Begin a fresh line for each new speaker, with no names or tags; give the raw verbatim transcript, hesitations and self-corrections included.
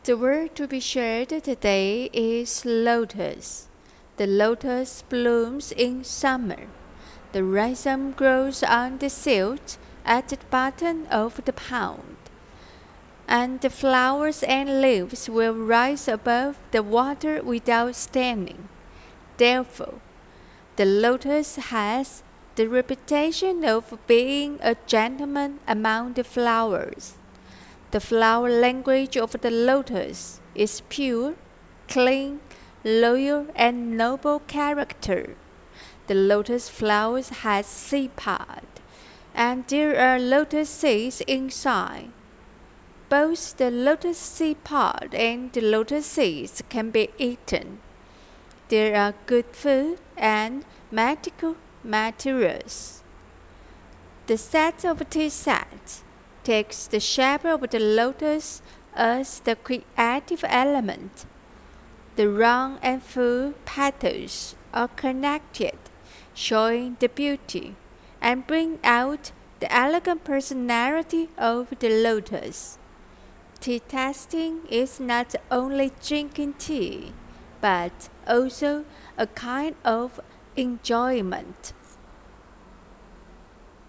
The word to be shared today is lotus. The lotus blooms in summer. The rhizome grows on the silt at the bottom of the pond, and the flowers and leaves will rise above the water without standing. Therefore, the lotus has the reputation of being a gentleman among the flowers. The flower language of the lotus is pure, clean, loyal, and noble character. The lotus flowers has seed pod, and there are lotus seeds inside. Both the lotus seed pod and the lotus seeds can be eaten. They are good food and medical materials. The set of tea sets takes the shape of the lotus as the creative element. The round and full petals are connected, showing the beauty and bring out the elegant personality of the lotus. Tea tasting is not only drinking tea, but also a kind of enjoyment.